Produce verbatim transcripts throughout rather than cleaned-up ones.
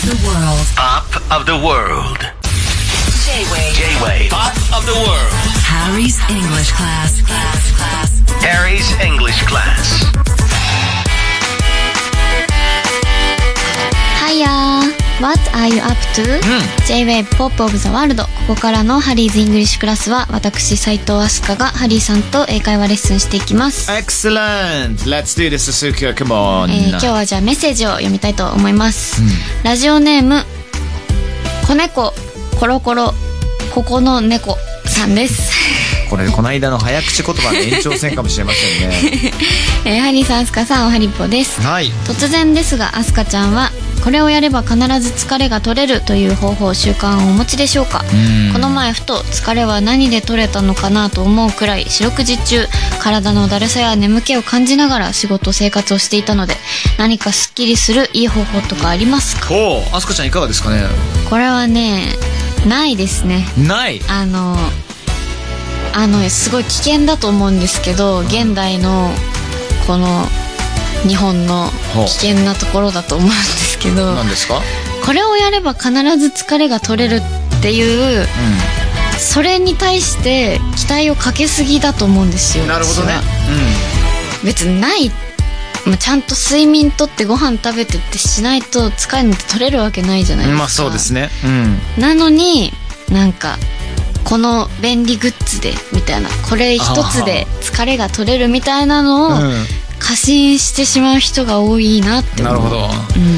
the world. Pop of the world. J-Wave. J-Wave. Pop of the world. Harry's English class. Class. Class. Harry's English class. Hiya. What are you up to?、うん、J-Wave Pop of the World。 ここからのハリーズイングリッシュクラスは私斉藤飛鳥がハリーさんと英会話レッスンしていきます。 Excellent. Let's do this, Susuki. Come on、 えー、今日はじゃあメッセージを読みたいと思います、うん、ラジオネーム子猫コロコロここの猫さんですこれこの間の早口言葉の延長戦かもしれませんね、 えー、ハリーさん、アスカさん、おはりっぽです、 はい、 突然ですがアスカちゃんはこれをやれば必ず疲れが取れるという方法習慣をお持ちでしょうか。この前ふと疲れは何で取れたのかなと思うくらい四六時中体のだるさや眠気を感じながら仕事生活をしていたので、何かすっきりするいい方法とかありますか。 おー、アスカちゃんいかがですかね。 これはね、ないですね。 ない。 あのあのすごい危険だと思うんですけど、現代のこの日本の危険なところだと思うんですけど、 何ですか。 これをやれば必ず疲れが取れるっていう、うん、それに対して期待をかけすぎだと思うんですよ。 なるほどね、 うん、別にない、まあ、ちゃんと睡眠とってご飯食べてってしないと疲れなんて取れるわけないじゃないですか。 まあそうですね、うん、 なのになんかこの便利グッズでみたいな、これ一つで疲れが取れるみたいなのを、うん過信してしまう人が多いなって思う。 なるほど、うん、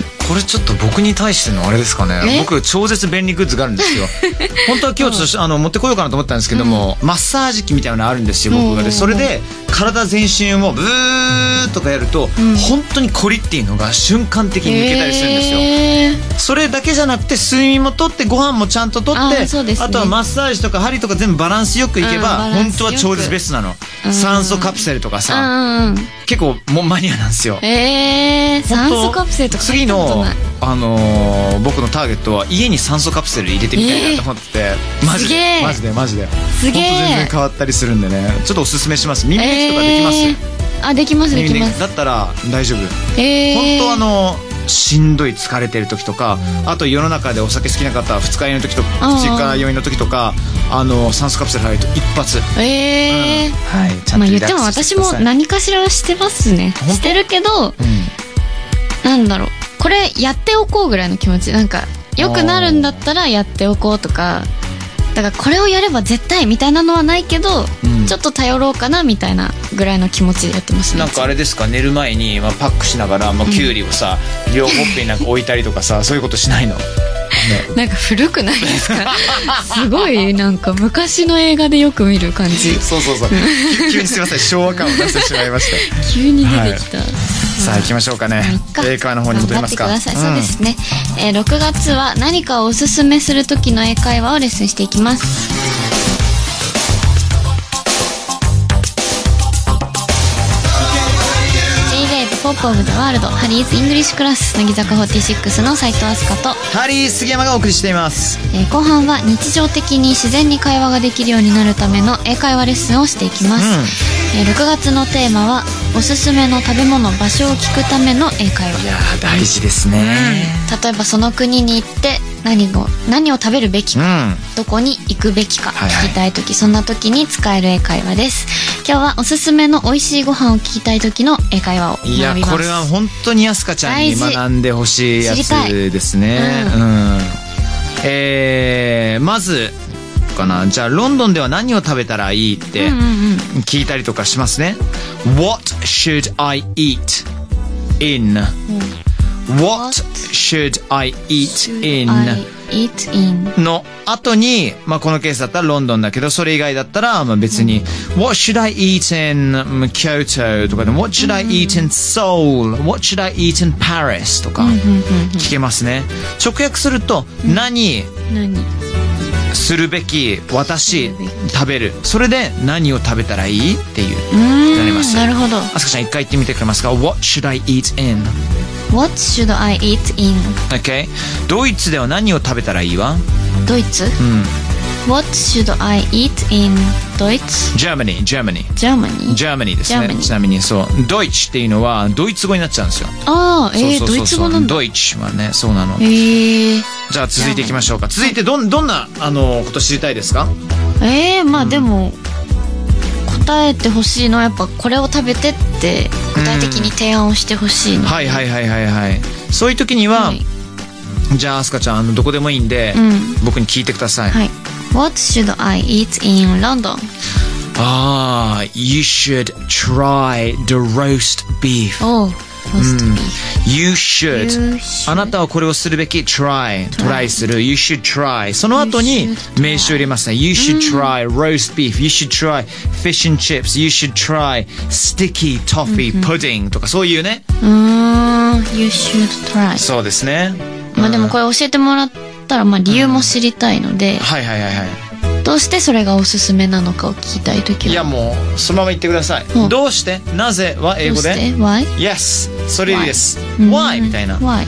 これちょっと僕に対してのあれですかね。僕超絶便利グッズがあるんですよ本当は今日ちょっと、うん、あの持ってこようかなと思ったんですけども、うん、マッサージ機みたいなのあるんですよ僕が。でそれで体全身をブーとかやると、うん、本当にコリっていうのが瞬間的に抜けたりするんですよ、えー、それだけじゃなくて睡眠もとってご飯もちゃんととって あ,、ね、あとはマッサージとか針とか全部バランスよくいけば、うん、本当は超絶ベストなの、うん、酸素カプセルとかさ、うん、結構もうマニアなんですよ。 えー、酸素カプセルとか次の、あのー、僕のターゲットは家に酸素カプセル入れてみたいなと思ってて、えー、マジでマジでマジですげえ本当全然変わったりするんでね、ちょっとおすすめします。耳抜きとかできます、えー、あできますできます。 だったら大丈夫、 えー、 本当あのしんどい疲れてる時とか、あと世の中でお酒好きな方二日酔いの時とか二日酔いの時とか、あの酸素カプセル入ると一発、 えーうんはい、ちゃんとリラックスしてください。まあ言っても私も何かしらはしてますね。してるけど、うん、なんだろう、これやっておこうぐらいの気持ち、なんか良くなるんだったらやっておこうとか、だからこれをやれば絶対みたいなのはないけど、うん、ちょっと頼ろうかなみたいなぐらいの気持ちでやってますね。 なんかあれですか、寝る前に、まあ、パックしながら、まあ、キュウリをさ、うん、両ほっぺになんか置いたりとかさそういうことしないの、ね、 なんか古くないですかすごいなんか昔の映画でよく見る感じそうそうそう急にすいません昭和感を出してしまいました急に出てきた、はい、 さあ行きましょうかね。英会話の方に戻りますか。 頑張ってください、うん、そうですね、えー、ろくがつは何かをおすすめする時の英会話をレッスンしていきます。ポップオブザワールドハリーズイングリッシュクラス、乃木坂フォーティーシックスの斉藤飛鳥とハリー杉山がお送りしています、 えー、後半は日常的に自然に会話ができるようになるための英会話レッスンをしていきます、うんえー、ろくがつのテーマはおすすめの食べ物場所を聞くための英会話。 いや大事ですね、 うん、例えばその国に行って何を何を食べるべきか、うん、どこに行くべきか聞きたい時、はいはい、そんな時に使える英会話です。今日はおすすめの美味しいご飯を聞きたい時の英会話を学びます。 いやこれは本当にアスカちゃんに学んでほしいやつですね、うんうんえー、まずかな、じゃあロンドンでは何を食べたらいいって聞いたりとかしますね、うんうんうん、What should I eat in、うんWhat should I eat in? Eat in の後に、まあ、このケースだったらロンドンだけど、それ以外だったら、まあ、別に、うん、What should I eat in Kyoto とかで What should I eat in Seoul? What should I eat in Paris? とか聞けますね。直訳すると、うん、何何するべき私食べる、それで何を食べたらいいっていうなります。 なるほど。 あすかちゃん一回言ってみてくれますか。 What should I eat in? What should I eat in? Okay. ドイツでは何を食べたらいいわ。 ドイツ、 うん What should I eat in Deutsch? Germany, Germany. Germany? Germany ですね。ちなみにそう、Deutsch っていうのはドイツ語になっちゃうんですよ。 ああ、えー、ドイツ語なんだ。 Deutsch はね、そうなの。 えー、 じゃあ続いていきましょうか。続いてどんどんなあのこと知りたいですか？ えー、まあでも、うん、答えてほしいのはやっぱこれを食べてって具体的に提案をしてほしいの、うん、 はいはいはいはいはい。そういう時には、はい、じゃあアスカちゃんあのどこでもいいんで、うん、僕に聞いてください。 はい。What should I eat in London? Ah, you should try the roast beef. Oh, roast beef. You should. You should. あなたはこれをするべき。try. try する。You should try. その後に名詞を入れますね。You should try roast beef. You should try fish and chips. You should try sticky toffee pudding とかそういうね。 うーん。You should try. そうですね。 まあでもこれ教えてもらったらまあ理由も知りたいので、うん、 はいはいはいはい。 どうしてそれがおすすめなのかを聞きたいときは、 いやもうそのまま言ってください。うん、どうしてなぜは英語で Why? Yes それです。 Why? Why? みたいな。 Why?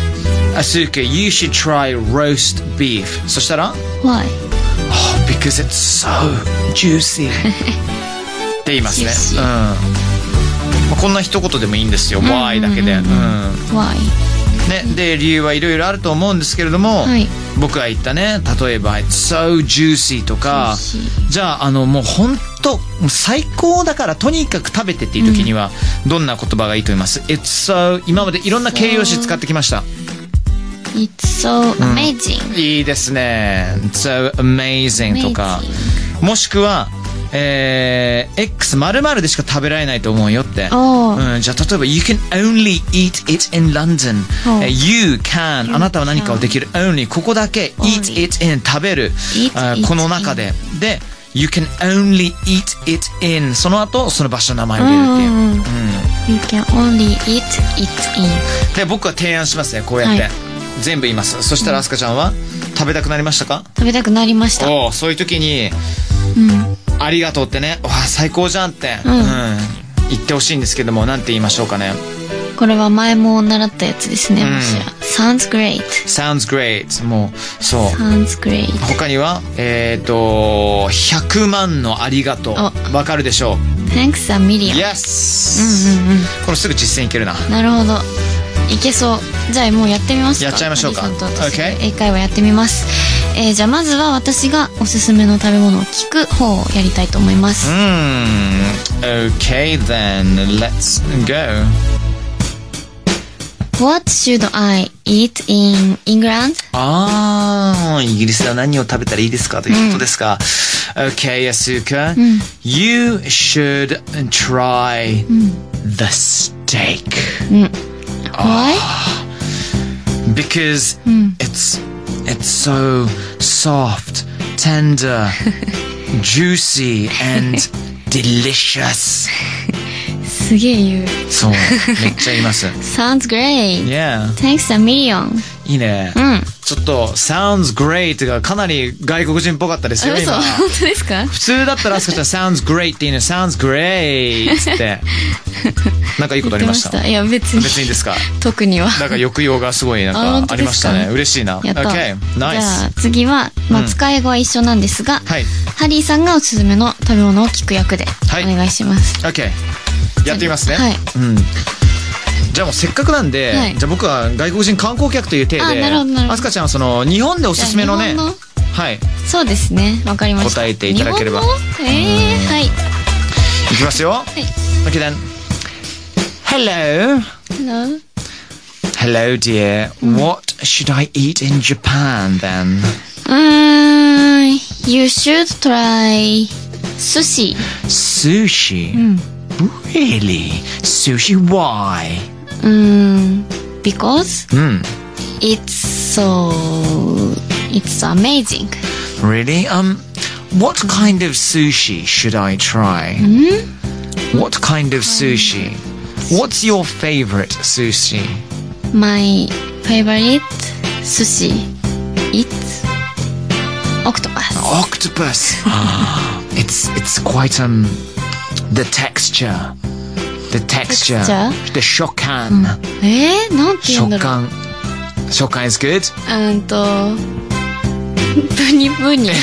Asuka, you should try roast beef. そしたら Why? Oh, because it's so juicy って言いますね。うん、まあ、こんな一言でもいいんですよ。 Why だけで、うん、 Why ね、で理由はいろいろあると思うんですけれども、はい、僕が言ったね、例えば It's so juicy とか、じゃああのもう本当最高だからとにかく食べてっていう時には、うん、どんな言葉がいいと思います？ It's so 今までいろんな形容詞使ってきました。 It's so amazing、 うん、いいですね。 It's so amazing とか、もしくはえー、X 〇〇でしか食べられないと思うよって、うん、じゃあ例えば You can only eat it in London、uh, You can あなたは何かをできる Only ここだけ Eat it in 食べる、uh, この中でで You can only eat it in その後その場所の名前を入れるっていう、うんうん、 You can only eat it in で僕は提案しますね。こうやって、はい、全部言います。そしたらアスカちゃんは、うん、食べたくなりましたか？ 食べたくなりました。 おそういう時に、うんありがとうってね、わ最高じゃんって、うんうん、言ってほしいんですけども、なんて言いましょうかね。 これは前も習ったやつですね、うん、もしや Sounds great Sounds great もうそう Sounds great 他にはえっ、ー、とひゃくまんのありがとうわかるでしょう。 Thanks a million Yes、うんうんうん、これすぐ実践いけるな。 なるほどいけそう。じゃあもうやってみますか。 やっちゃいましょうか。 Okay. 英会話やってみます。えー、じゃあまずは私がおすすめの食べ物を聞く方をやりたいと思います。 うん。Okay then, let's go. What should I eat in England? ああ、イギリスでは何を食べたらいいですかということですか。うん、okay, Asuka、うん、You should try、うん、the steak、うん、 Why? Because、うん、it's it's so soft, tender, juicy and delicious. すげえ言う。 そう、めっちゃ言います。 Sounds great. Yeah. Thanks a million. いいね。うん。ちょっと sounds great がかなり外国人っぽかったですよ今。 本当ですか？ 普通だったらあすかちゃん sounds great っていうの sounds great ってなんかいいことありました？ いや別に。 別にですか？ 特には。 なんか抑揚がすごいなんかありましたね。嬉しいな。 やった。 Okay, nice. じゃあ次はまあ使い語は一緒なんですが、うん、はい、ハリーさんがおすすめの食べ物を聞く役でお願いします。 はい、OK。やってみますね。 はい。 うん。じゃあもうせっかくなんで、はい、じゃあ僕は外国人観光客という体で、あすかちゃんはその日本でおすすめのね、のはい。 そうですね。わかりました。 答えていただければ。 えー、はい。いきますよ。はい。Okay then. Hello. Hello. Hello, dear. What should I eat in Japan then? Um, you should try sushi. Sushi? うん。Really? Sushi? Why? Um, because mm. it's so it's amazing. Really? Um, what kind of sushi should I try? Mm? What kind of sushi? What's your favorite sushi? My favorite sushi. It's octopus. Octopus. it's it's quite um. The texture, the texture, the 食感、うん、 えー、なんて言うんだろう。 食感、食感 is good. うんと、 当にブニ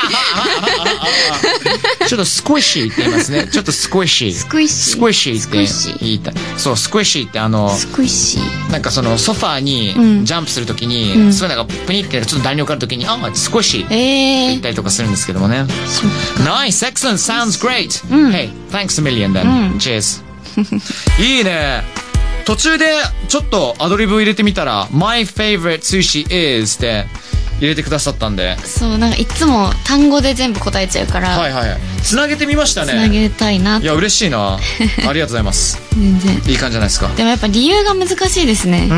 ちょっとスクイッシーって言いますね。ちょっとスクイッシー。 スクイッシー。 スクイッシーって言いたい。そう、スクイッシーってあの、 スクイッシー。 なんかそのソファーにジャンプするときに、うん、そういうのがプニってちょっと弾力あるときに、あ、スクイッシーって言ったりとかするんですけどもね。Nice, excellent, sounds great. Hey, thanks a million then. Cheers. いいね。途中でちょっとアドリブを入れてみたら My favorite sushi is って入れてくださったんで、 そうなんかいつも単語で全部答えちゃうから、 はいはい、つなげてみましたね。 つなげたいな。 いや嬉しいな。ありがとうございます。 全然いい感じじゃないですか。 でもやっぱ理由が難しいですね。 うん、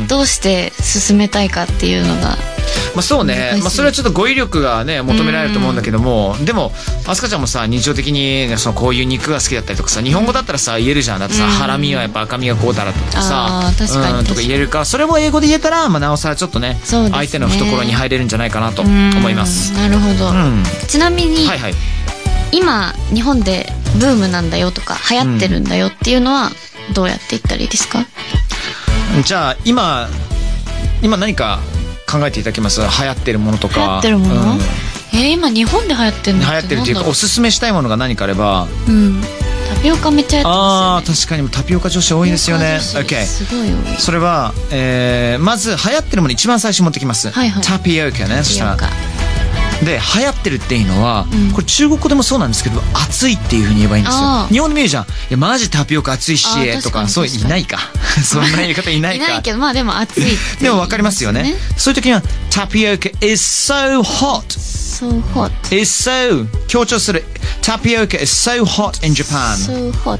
どうして進めたいかっていうのが。 まあそうね、まあ、それはちょっと語彙力がね求められると思うんだけども、でもあすかちゃんもさ日常的にそのこういう肉が好きだったりとかさ、日本語だったらさ言えるじゃん。だってさ、ハラミはやっぱ赤身がこうだらとかさ、 あ確かにうんとか言えるから、それも英語で言えたら、まあ、なおさらちょっと ね, ね相手の懐に入れるんじゃないかなと思います。 なるほど、うん、ちなみに、 はいはい、 今日本でブームなんだよとか流行ってるんだよっていうのはどうやって言ったらいいですか？ うん、じゃあ今今何か考えていただけます？流行ってるものとか。 流行ってるもの、うん、えー、今日本で流行ってるのって流行ってるっていうかおすすめしたいものが何かあれば。 うん、タピオカめっちゃやってますよね。 ああ確かにタピオカ女子多いですよね。 OK、 すごい多い。 それは、えー、まず流行ってるもの一番最初持ってきます、はいはい、タピオカね。そしたらで流行ってるっていうのは、うん、これ中国語でもそうなんですけど熱いっていうふうに言えばいいんですよ。日本で見るじゃん、いやマジタピオカ熱いしとかそういないかそんな言い方いないかいないけど、まあでも熱いでも分かりますよね。そういう時にはタピオカ is so hot so hot is so 強調する。タピオカ is so hot in Japan so hot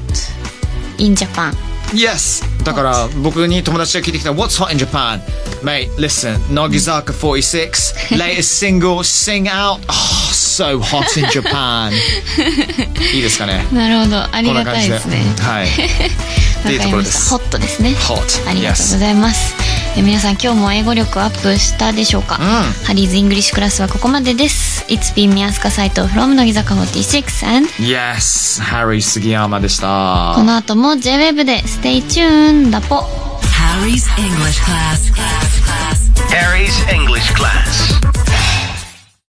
in Japan Yes だから僕に友達が聞いてきた What's hot in Japan? Mate, listen, Nogizaka forty-six latest single, Sing Out. Oh, so hot in Japan いいですかね。 なるほど、ありがたいですね。 はいっていうところです。 ホットですね。 Hot ありがとうございます、yes. え皆さん今日も英語力アップしたでしょうか、うん、ハリーズイングリッシュクラスはここまでです。 It's been 宮塚サイト from 乃木坂フォーティーシックス and Yes, Harry 杉山でした。 この後も J-ウェブ で Stay tuned だぽ。 Harry's English class Harry's English class